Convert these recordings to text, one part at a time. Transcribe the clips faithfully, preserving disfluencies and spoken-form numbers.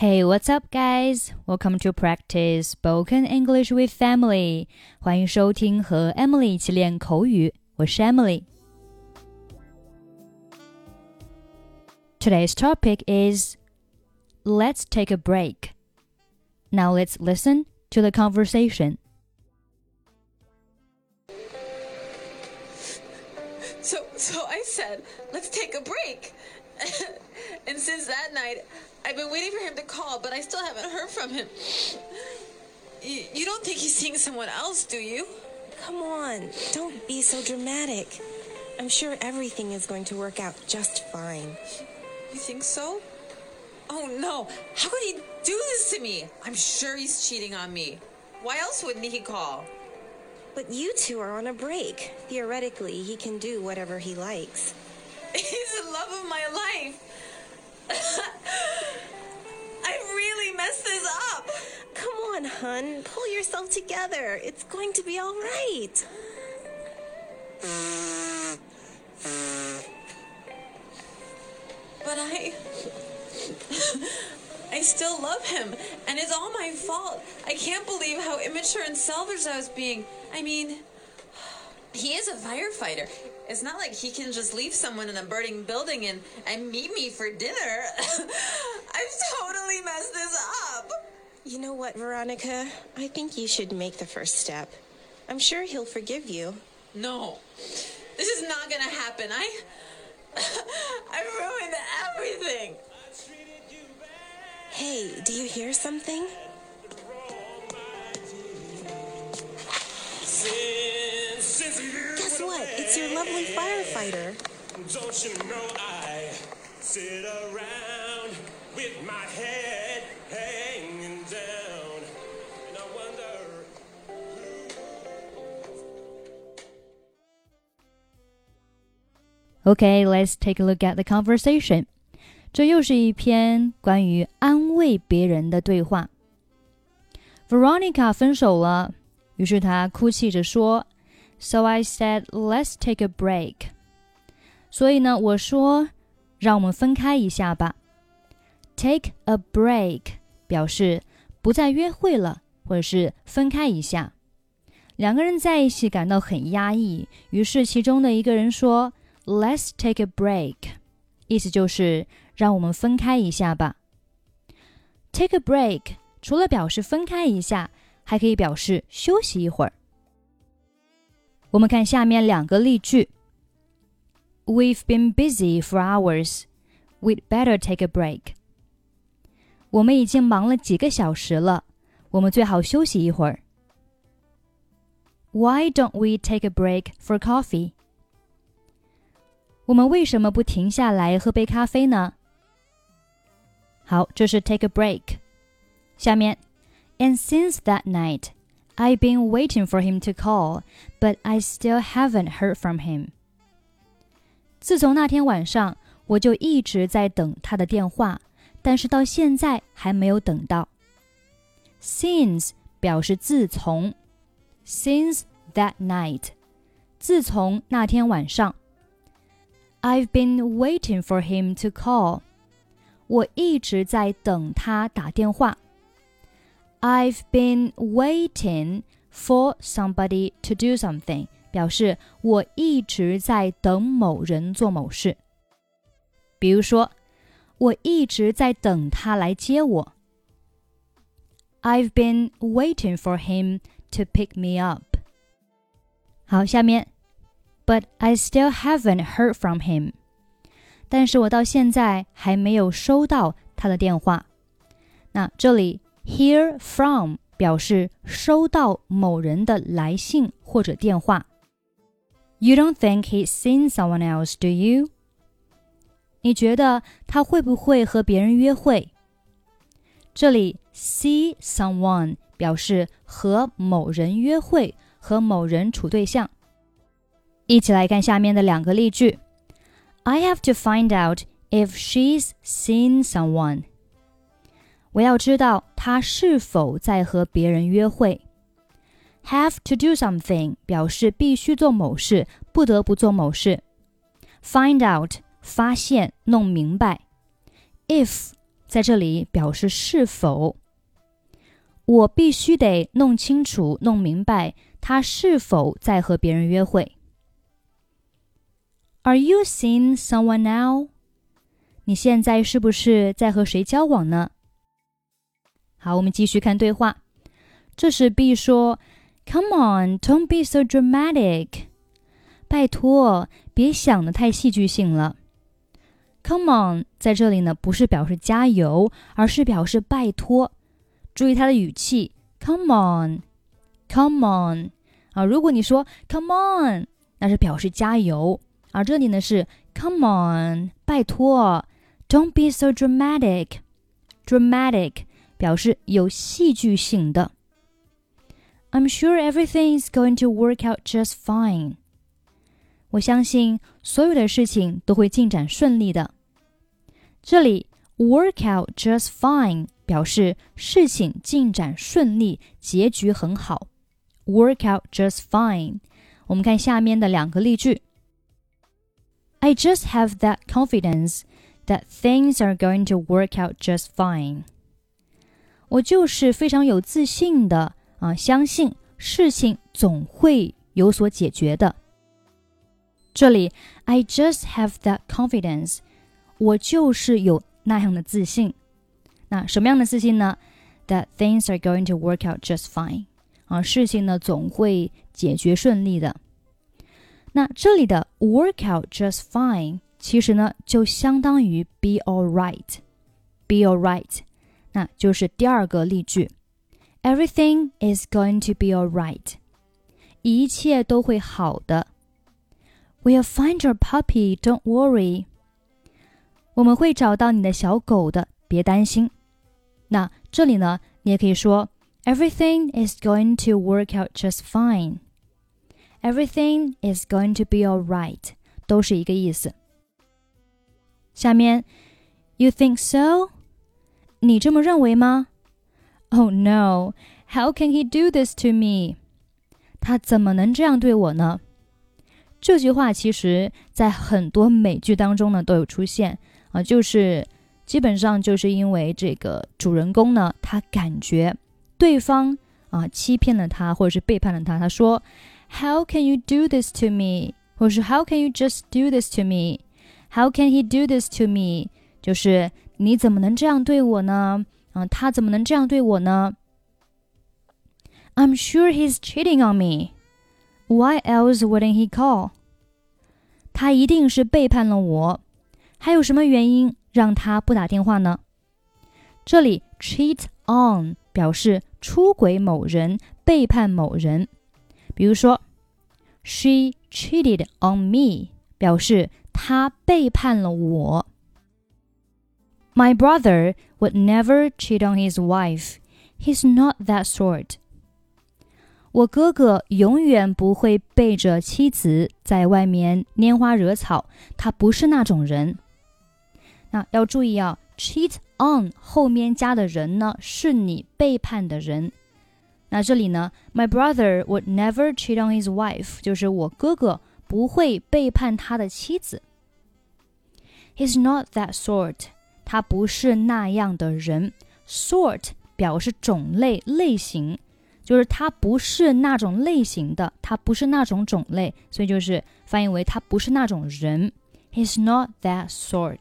Hey, what's up, guys? Welcome to practice spoken English with Emily. 欢迎收听和 Emily 一起练口语，我是 Emily. Today's topic is Let's take a break. Now let's listen to the conversation. So, so I said, let's take a break. And since that night, I've been waiting for him to call, but I still haven't heard from him. You, you don't think he's seeing someone else, do you? Come on, don't be so dramatic. I'm sure everything is going to work out just fine. You think so? Oh no, how could he do this to me? I'm sure he's cheating on me. Why else wouldn't he call? But you two are on a break. Theoretically, he can do whatever he likes. He's the love of my life. I really messed this up. Come on, hun. Pull yourself together. It's going to be all right. But I... I still love him, and it's all my fault. I can't believe how immature and selfish I was being. I mean, he is a firefighter. It's not like he can just leave someone in a burning building and, and meet me for dinner. I've totally messed this up. You know what, Veronica? I think you should make the first step. I'm sure he'll forgive you. No, this is not gonna happen. I... I ruined everything. Hey, do you hear something? Guess what? It's your lovely firefighter. Don't you know I sit around with my head hanging down and I wonder Okay, let's take a look at the conversation. 这又是一篇关于安慰别人的对话。Veronica 分手了，于是她哭泣着说 So I said, let's take a break. 所以呢，我说让我们分开一下吧。Take a break 表示不再约会了，或者是分开一下。两个人在一起感到很压抑，于是其中的一个人说 Let's take a break. 意思就是让我们分开一下吧。Take a break 除了表示分开一下，还可以表示休息一会儿。我们看下面两个例句。We've been busy for hours. We'd better take a break. 我们已经忙了几个小时了，我们最好休息一会儿。Why don't we take a break for coffee? 我们为什么不停下来喝杯咖啡呢？好，这是 take a break。下面 And since that night, I've been waiting for him to call, but I still haven't heard from him. 自从那天晚上，我就一直在等他的电话，但是到现在还没有等到。Since 表示自从 Since that night 自从那天晚上I've been waiting for him to call. 我一直在等他打电话。I've been waiting for somebody to do something. 表示我一直在等某人做某事。比如说，我一直在等他来接我。I've been waiting for him to pick me up. 好，下面But I still haven't heard from him. 但是我到现在还没有收到他的电话。那这里 hear from 表示收到某人的来信或者电话。You don't think he's seen someone else, do you? 你觉得他会不会和别人约会？这里 see someone 表示和某人约会，和某人处对象。一起来看下面的两个例句。I have to find out if she's seen someone. 我要知道她是否在和别人约会。Have to do something 表示必须做某事，不得不做某事。Find out 发现，弄明白。If 在这里表示是否。我必须得弄清楚、弄明白他是否在和别人约会。Are you seeing someone now? 你现在是不是在和谁交往呢？好，我们继续看对话。这时 B 说 Come on, don't be so dramatic. 拜托，别想得太戏剧性了。Come on 在这里呢，不是表示加油，而是表示拜托。注意它的语气 Come on, come on 啊，如果你说 Come on 那是表示加油，而这里呢是 Come on 拜托 Don't be so dramatic. Dramatic 表示有戏剧性的。I'm sure everything is going to work out just fine. 我相信所有的事情都会进展顺利的。这里 work out just fine 表示事情进展顺利，结局很好。Work out just fine. 我们看下面的两个例句。I just have that confidence that things are going to work out just fine. 我就是非常有自信的啊，相信事情总会有所解决的。这里 I just have that confidence 我就是有那样的自信。那什么样的自信呢？ That things are going to work out just fine 啊，事情呢总会解决顺利的。那这里的 work out just fine 其实呢就相当于 be alright be alright 那就是第二个例句 Everything is going to be alright 一切都会好的。 We'll find your puppy, don't worry 我们会找到你的小狗的，别担心。那这里呢你也可以说 Everything is going to work out just fine Everything is going to be alright 都是一个意思。下面 You think so? 你这么认为吗？ Oh no, how can he do this to me? 他怎么能这样对我呢？这句话其实在很多美剧当中呢都有出现啊，就是基本上就是因为这个主人公呢他感觉对方啊欺骗了他或者是背叛了他，他说 How can you do this to me? 或是 How can you just do this to me? How can he do this to me? 就是你怎么能这样对我呢？啊，他怎么能这样对我呢？ I'm sure he's cheating on me. Why else wouldn't he call? 他一定是背叛了我，还有什么原因让他不打电话呢？这里 cheat on 表示出轨某人，背叛某人。比如说 She cheated on me 表示他背叛了我。 My brother would never cheat on his wife. He's not that sort. 我哥哥永远不会背着妻子在外面拈花惹草，他不是那种人。那要注意啊 cheat on 后面加的人呢是你背叛的人。那这里呢 My brother would never cheat on his wife 就是我哥哥不会背叛他的妻子。 He's not that sort 他不是那样的人。 Sort 表示种类类型，就是他不是那种类型的，他不是那种种类，所以就是翻译为他不是那种人。 He's not that sort。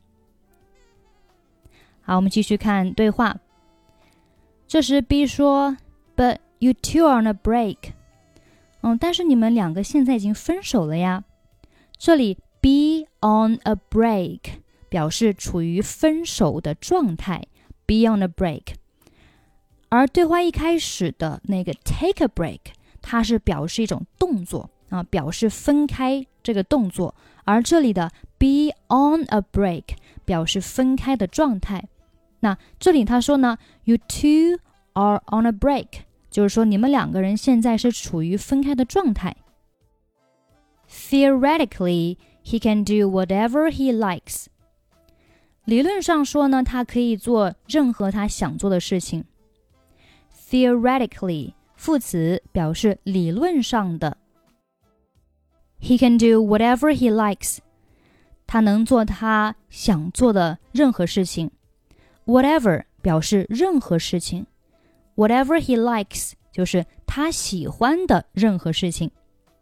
好，我们继续看对话。这时 B 说 But you two are on a break。 嗯，但是你们两个现在已经分手了呀。这里 be on a break 表示处于分手的状态， be on a break。 而对话一开始的那个 take a break 它是表示一种动作啊，表示分开这个动作，而这里的 be on a break 表示分开的状态。那这里他说呢 You two are on a break 就是说你们两个人现在是处于分开的状态。 Theoretically, he can do whatever he likes。 理论上说呢，他可以做任何他想做的事情。 Theoretically 副词表示理论上的。 He can do whatever he likes 他能做他想做的任何事情。 Whatever 表示任何事情， Whatever he likes 就是他喜欢的任何事情。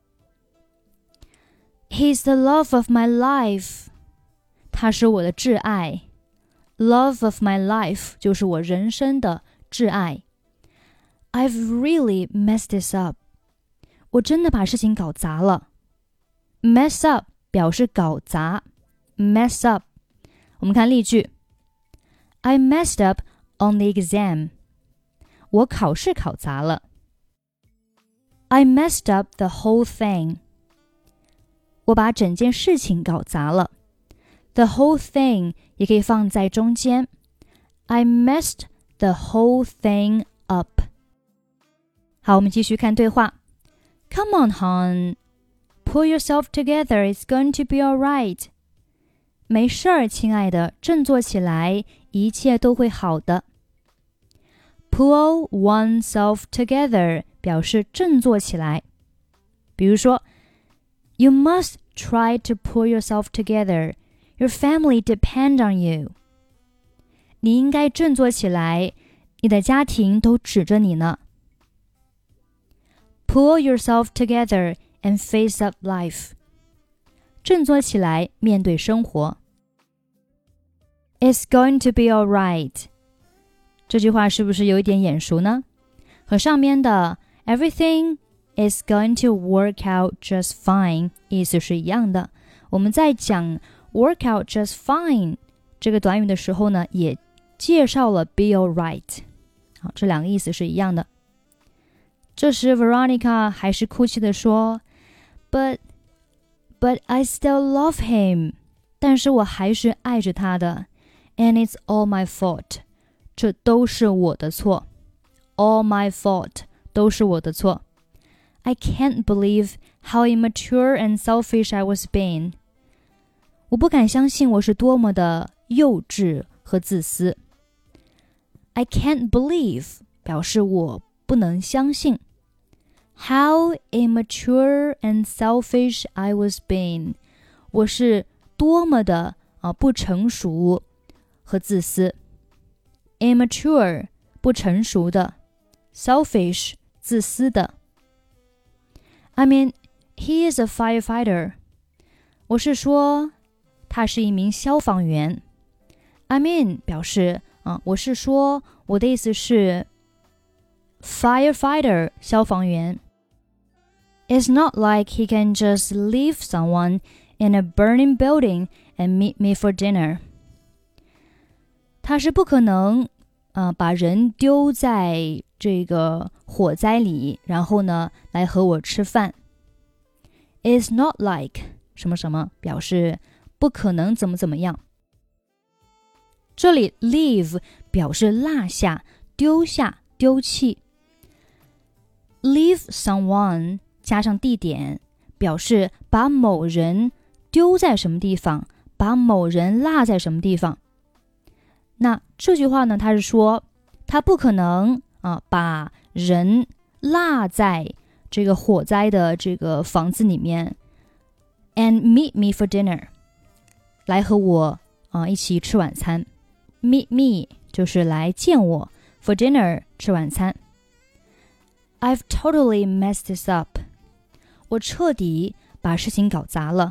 He's the love of my life 他是我的挚爱， Love of my life 就是我人生的挚爱。 I've really messed this up 我真的把事情搞砸了。 Mess up 表示搞砸， Mess up 我们看例句， I messed up on the exam 我考试考砸了。 I messed up the whole thing 我把整件事情搞砸了。 The whole thing 也可以放在中间， I messed the whole thing up。 好，我们继续看对话。 Come on, hon. Pull yourself together, it's going to be alright. 没事儿，亲爱的，振作起来，一切都会好的。 Pull oneself together 表示振作起来。比如说 You must try to pull yourself together. Your family depend on you. 你应该振作起来，你的家庭都指着你呢。 Pull yourself together and face up life. 振作起来，面对生活。 It's going to be alright. 这句话是不是有一点眼熟呢？和上面的 Everything is going to work out just fine 意思是一样的。我们在讲 work out just fine 这个短语的时候呢，也介绍了 be alright。 好，这两个意思是一样的。这时 Veronica 还是哭泣地说 But, but I still love him. 但是我还是爱着他的。And it's all my fault. 这都是我的错。All my fault. 都是我的错。I can't believe how immature and selfish I was being. 我不敢相信我是多么的幼稚和自私。I can't believe 表示我不能相信。How immature and selfish I was being. 我是多么的、呃、不成熟和自私。Immature 不成熟的， selfish 自私的。I mean, he is a firefighter. 我是说他是一名消防员。I mean 表示、呃、我是说我的意思是 firefighter 消防员。It's not like he can just leave someone in a burning building and meet me for dinner. 他是不可能、呃、把人丢在这个火灾里，然后呢来和我吃饭。It's not like 什么什么表示不可能怎么怎么样。这里 leave 表示落下、丢下、丢弃。Leave someone 加上地点，表示把某人丢在什么地方，把某人落在什么地方。那这句话呢，他是说他不可能啊把人落在这个火灾的这个房子里面 and meet me for dinner 来和我啊一起吃晚餐。 meet me 就是来见我， for dinner 吃晚餐。 I've totally messed this up 我彻底把事情搞砸了。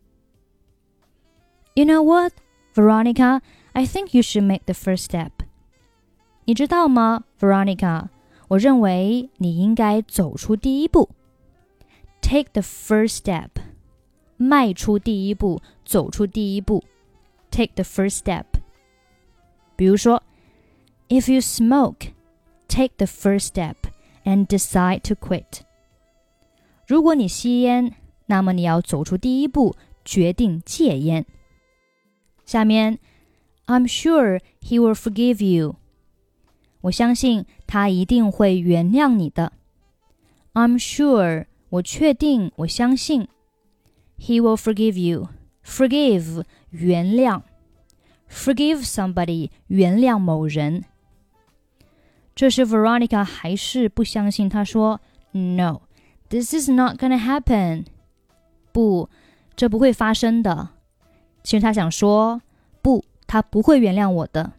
You know what, Veronica, I think you should make the first step. 你知道吗 Veronica, 我认为你应该走出第一步。 Take the first step 迈出第一步，走出第一步。 Take the first step 比如说 If you smoke, take the first step and decide to quit. 如果你吸烟，那么你要走出第一步，决定戒烟。下面 I'm sure he will forgive you. 我相信他一定会原谅你的。 I'm sure 我确定，我相信 He will forgive you. Forgive 原谅， Forgive somebody 原谅某人。这时 Veronica 还是不相信，她说 No, this is not gonna happen. 不，这不会发生的。其实她想说不，他不会原谅我的。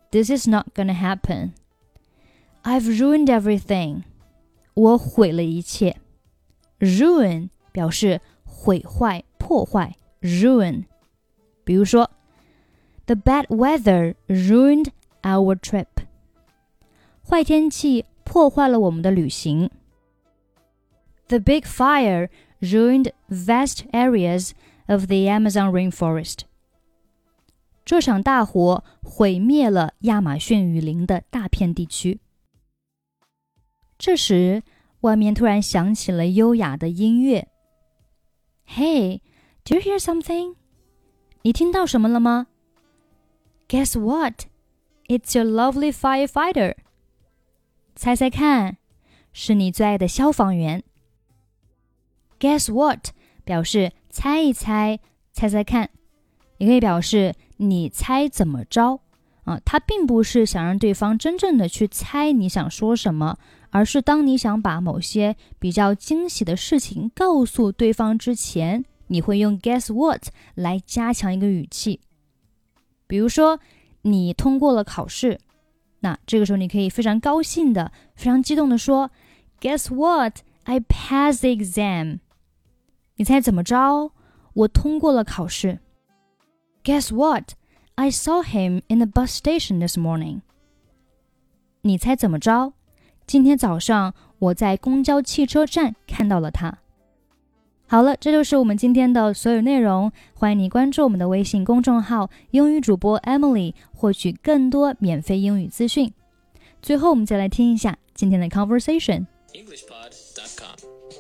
This is not gonna happen. I've ruined everything. 我毁了一切。Ruin 表示毁坏、破坏。Ruin 比如说 The bad weather ruined our trip. 坏天气破坏了我们的旅行。The big fire ruined vast areas of the Amazon rainforest. 这场大火毁灭了亚马逊雨林的大片地区。这时，外面突然响起了优雅的音乐。Hey, do you hear something? 你听到什么了吗？ Guess what? It's your lovely firefighter. 猜猜看，是你最爱的消防员。Guess what? 表示猜一猜，猜猜看，也可以表示你猜怎么着啊？它并不是想让对方真正的去猜你想说什么，而是当你想把某些比较惊喜的事情告诉对方之前，你会用 guess what 来加强一个语气。比如说，你通过了考试，那这个时候你可以非常高兴的、非常激动的说 Guess what? I passed the exam. 你猜怎么着？我通过了考试。Guess what? I saw him in the bus station this morning. 你猜怎么着？今天早上我在公交汽车站看到了他。好了，这就是我们今天的所有内容。欢迎你关注我们的微信公众号英语主播 Emily， 获取更多免费英语资讯。最后我们再来听一下今天的 conversation。 english pod dot com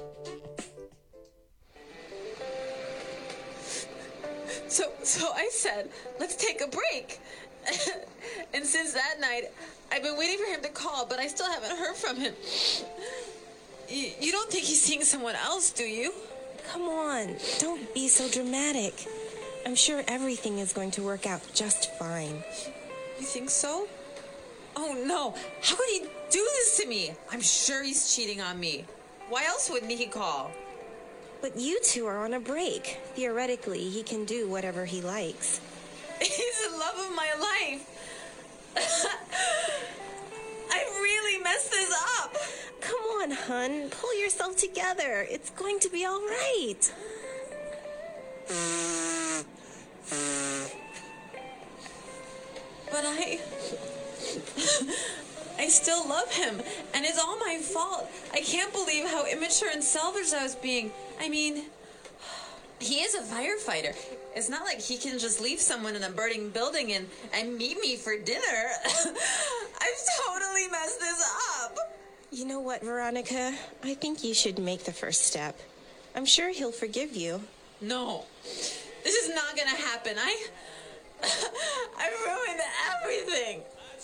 So, so I said, let's take a break. And since that night, I've been waiting for him to call, but I still haven't heard from him. You, you don't think he's seeing someone else, do you? Come on, don't be so dramatic. I'm sure everything is going to work out just fine. You think so? Oh no, how could he do this to me? I'm sure he's cheating on me. Why else wouldn't he call? But you two are on a break. Theoretically, he can do whatever he likes. He's the love of my life. I really messed this up. Come on, hun. Pull yourself together. It's going to be all right. But I... I still love him, and it's all my fault. I can't believe how immature and selfish I was being. I mean, he is a firefighter. It's not like he can just leave someone in a burning building and, and meet me for dinner. I've totally messed this up. You know what, Veronica? I think you should make the first step. I'm sure he'll forgive you. No, this is not gonna happen. I... I ruined everything.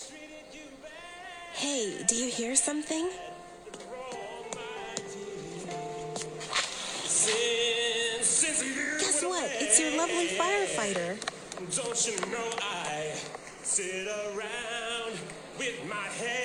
Hey, do you hear something? Since, since you Guess went what? away, It's your lovely firefighter. Don't you know I sit around with my head